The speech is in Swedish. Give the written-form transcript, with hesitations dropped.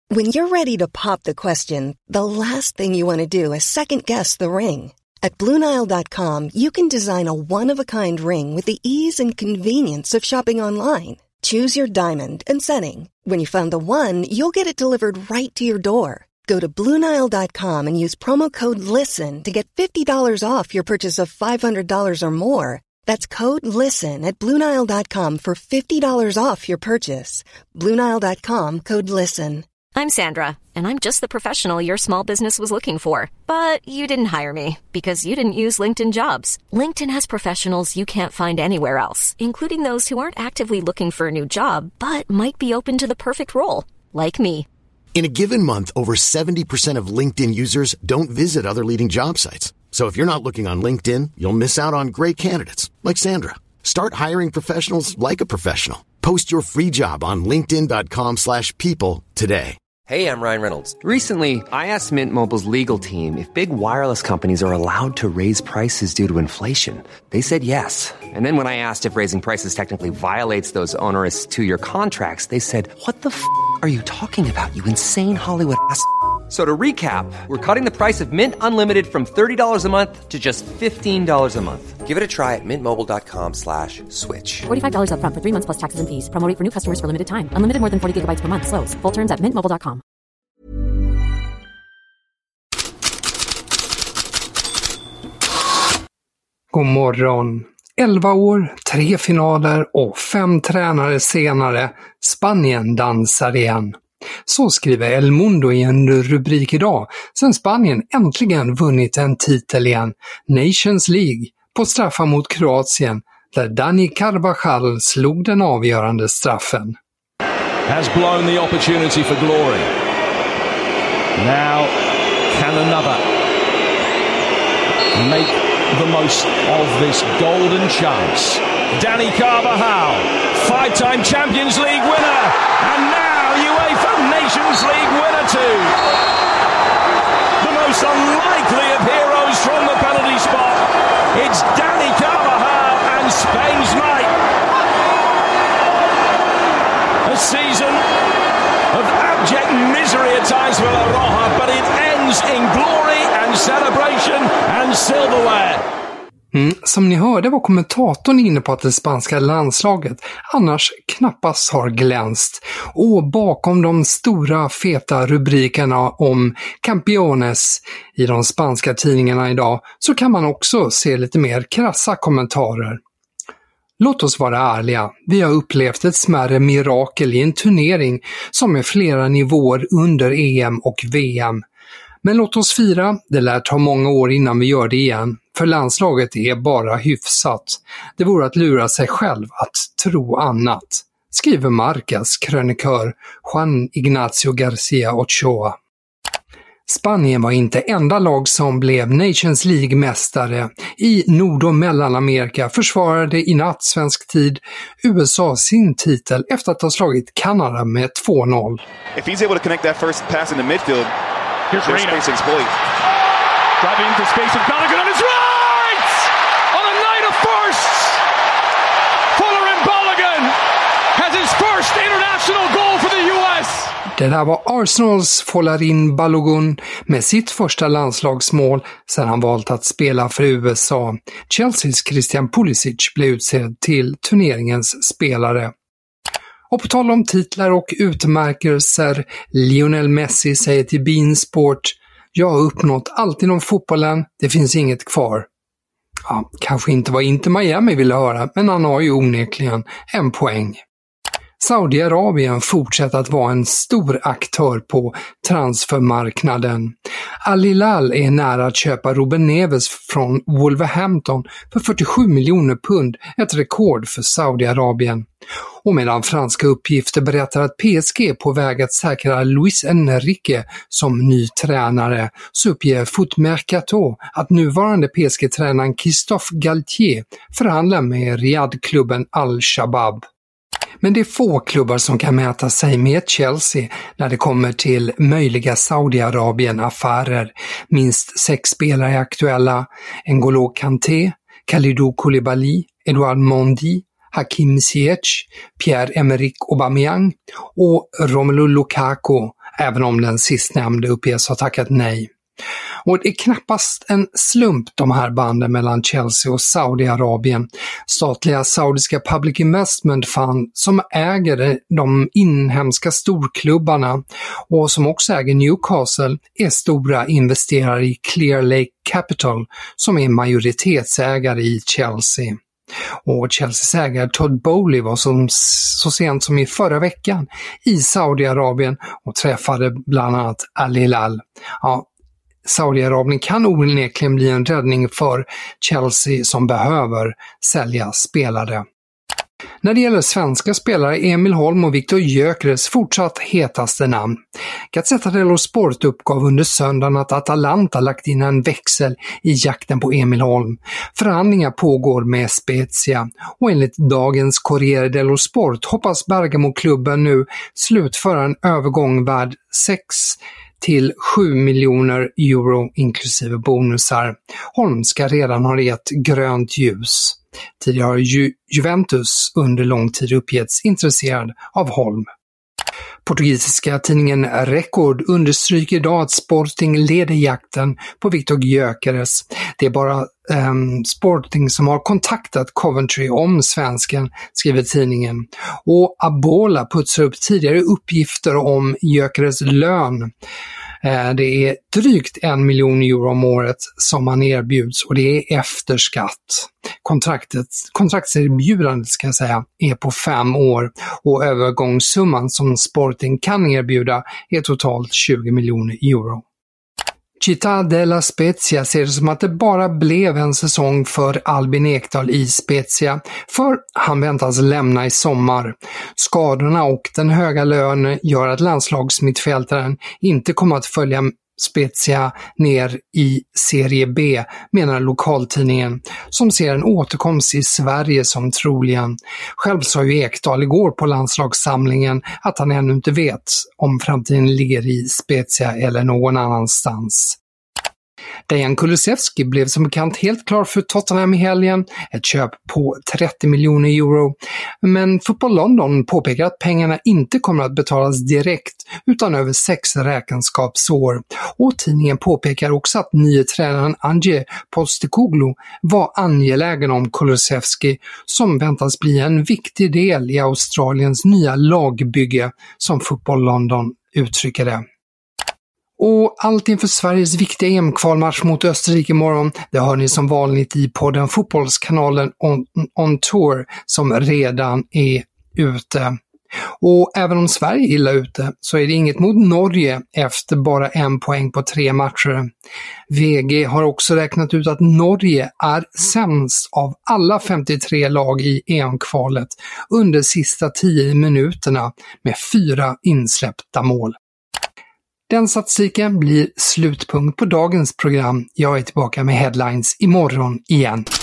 When you're ready to pop the question, the last thing you want to do is second-guess the ring. At BlueNile.com, you can design a one-of-a-kind ring with the ease and convenience of shopping online. Choose your diamond and setting. When you find the one, you'll get it delivered right to your door. Go to BlueNile.com and use promo code LISTEN to get $50 off your purchase of $500 or more. That's code LISTEN at BlueNile.com for $50 off your purchase. BlueNile.com, code LISTEN. I'm Sandra, and I'm just the professional your small business was looking for. But you didn't hire me because you didn't use LinkedIn Jobs. LinkedIn has professionals you can't find anywhere else, including those who aren't actively looking for a new job, but might be open to the perfect role, like me. In a given month, over 70% of LinkedIn users don't visit other leading job sites. So if you're not looking on LinkedIn, you'll miss out on great candidates like Sandra. Start hiring professionals like a professional. Post your free job on linkedin.com/people today. Hey, I'm Ryan Reynolds. Recently, I asked Mint Mobile's legal team if big wireless companies are allowed to raise prices due to inflation. They said yes. And then when I asked if raising prices technically violates those onerous two-year contracts, they said, "What the f*** are you talking about, you insane Hollywood ass?" So to recap, we're cutting the price of Mint Unlimited from $30 a month to just $15 a month. Give it a try at mintmobile.com/switch. $45 up front for 3 months plus taxes and fees. Promo rate for new customers for limited time. Unlimited more than 40 gigabytes per month. Slows full terms at mintmobile.com. God morgon. 11 år, 3 finaler och 5 tränare senare, Spanien dansar igen. Så skriver El Mundo i en rubrik idag, sen Spanien äntligen vunnit en titel igen, Nations League, på straffar mot Kroatien, där Dani Carvajal slog den avgörande straffen. Has blown the opportunity for glory. Now can another make the most of this golden chance. Dani Carvajal, 5-time Champions League winner, and now UEFA Nations League winner too. The most unlikely of heroes from the penalty spot. It's Dani Carvajal and Spain's might. A season of abject misery at times for La Roja, but it ends in glory and celebration and silverware. Som ni hörde var kommentatorn inne på att det spanska landslaget annars knappast har glänst. Och bakom de stora feta rubrikerna om Campeones i de spanska tidningarna idag så kan man också se lite mer krassa kommentarer. Låt oss vara ärliga, vi har upplevt ett smärre mirakel i en turnering som är flera nivåer under EM och VM. Men låt oss fira, det lär ta många år innan vi gör det igen, för landslaget är bara hyfsat. Det vore att lura sig själv att tro annat, skriver Marcas krönikör Juan Ignacio Garcia Ochoa. Spanien var inte enda lag som blev Nations League-mästare. I Nord- och Mellanamerika försvarade i natt svensk tid USA sin titel efter att ha slagit Kanada med 2-0. If he's able to connect that first pass in the midfield, here's there's space to exploit. Driving into space with Gallagher on his right! On a night of firsts! Folarin Balogun has his first international goal for the US! Det där var Arsenals Folarin Balogun med sitt första landslagsmål sedan han valt att spela för USA. Chelseas Christian Pulisic blev utsedd till turneringens spelare. Och på tal om titlar och utmärkelser, Lionel Messi säger till beIN Sport: "Jag har uppnått allt inom fotbollen, det finns inget kvar." Ja, kanske inte vad Inter Miami ville höra, men han har ju onekligen en poäng. Saudiarabien fortsätter att vara en stor aktör på transfermarknaden. Al Hilal är nära att köpa Ruben Neves från Wolverhampton för 47 miljoner pund, ett rekord för Saudiarabien. Och medan franska uppgifter berättar att PSG är på väg att säkra Luis Enrique som ny tränare, så uppger Foot Mercato att nuvarande PSG-tränaren Christophe Galtier förhandlar med Riyadh-klubben Al-Shabab. Men det är få klubbar som kan mäta sig med Chelsea när det kommer till möjliga Saudiarabien-affärer. Minst 6 spelare är aktuella: N'Golo Kanté, Kalidou Koulibaly, Edouard Mendy, Hakim Ziyech, Pierre-Emerick Aubameyang och Romelu Lukaku även om den sistnämnde uppges ha tackat nej. Och det är knappast en slump de här banden mellan Chelsea och Saudiarabien. Statliga saudiska Public Investment Fund som äger de inhemska storklubbarna och som också äger Newcastle är stora investerare i Clear Lake Capital som är majoritetsägare i Chelsea. Och Chelseas ägare Todd Bowley var så sent som i förra veckan i Saudiarabien och träffade bland annat Al Hilal. Ja, Saudiarabien kan onekligen bli en räddning för Chelsea som behöver sälja spelare. När det gäller svenska spelare är Emil Holm och Viktor Gyökeres fortsatt hetaste namn. Gazzetta dello Sport uppgav under söndagen att Atalanta lagt in en växel i jakten på Emil Holm. Förhandlingar pågår med Spezia och enligt dagens Corriere dello Sport hoppas Bergamo-klubben nu slutföra en övergång värd 6 till 7 miljoner euro inklusive bonusar. Holm ska redan ha gett grönt ljus. Tidigare har Juventus under lång tid uppgetts intresserad av Holm. Portugisiska tidningen Record understryker idag att Sporting leder jakten på Viktor Gyökeres. Det är bara Sporting som har kontaktat Coventry om svensken, skriver tidningen. Och Abola putsar upp tidigare uppgifter om Gyökeres lön. Det är drygt 1 miljon euro om året som man erbjuds och det är efter skatt. Kontraktserbjudandet ska jag säga är på 5 år och övergångssumman som Sporting kan erbjuda är totalt 20 miljoner euro. Città della Spezia ser det som att det bara blev en säsong för Albin Ekdal i Spezia, för han väntas lämna i sommar. Skadorna och den höga lönen gör att landslagsmittfältaren inte kommer att följa Spezia ner i Serie B, menar lokaltidningen, som ser en återkomst i Sverige som troligen. Själv sa ju Ekdal igår på landslagssamlingen att han ännu inte vet om framtiden ligger i Spezia eller någon annanstans. Dejan Kulusevski blev som bekant helt klar för Tottenham i helgen, ett köp på 30 miljoner euro. Men Football London påpekar att pengarna inte kommer att betalas direkt utan över 6 räkenskapsår. Och tidningen påpekar också att nye tränaren Ange Postecoglou var angelägen om Kulusevski som väntas bli en viktig del i Australiens nya lagbygge, som Football London uttrycker det. Och allt inför Sveriges viktiga EM-kvalmatch mot Österrike imorgon, det hör ni som vanligt i podden Fotbollskanalen on Tour som redan är ute. Och även om Sverige är illa ute så är det inget mot Norge efter bara 1 poäng på 3 matcher. VG har också räknat ut att Norge är sämst av alla 53 lag i EM-kvalet under sista 10 minuterna med 4 insläppta mål. Den statistiken blir slutpunkt på dagens program. Jag är tillbaka med headlines imorgon igen.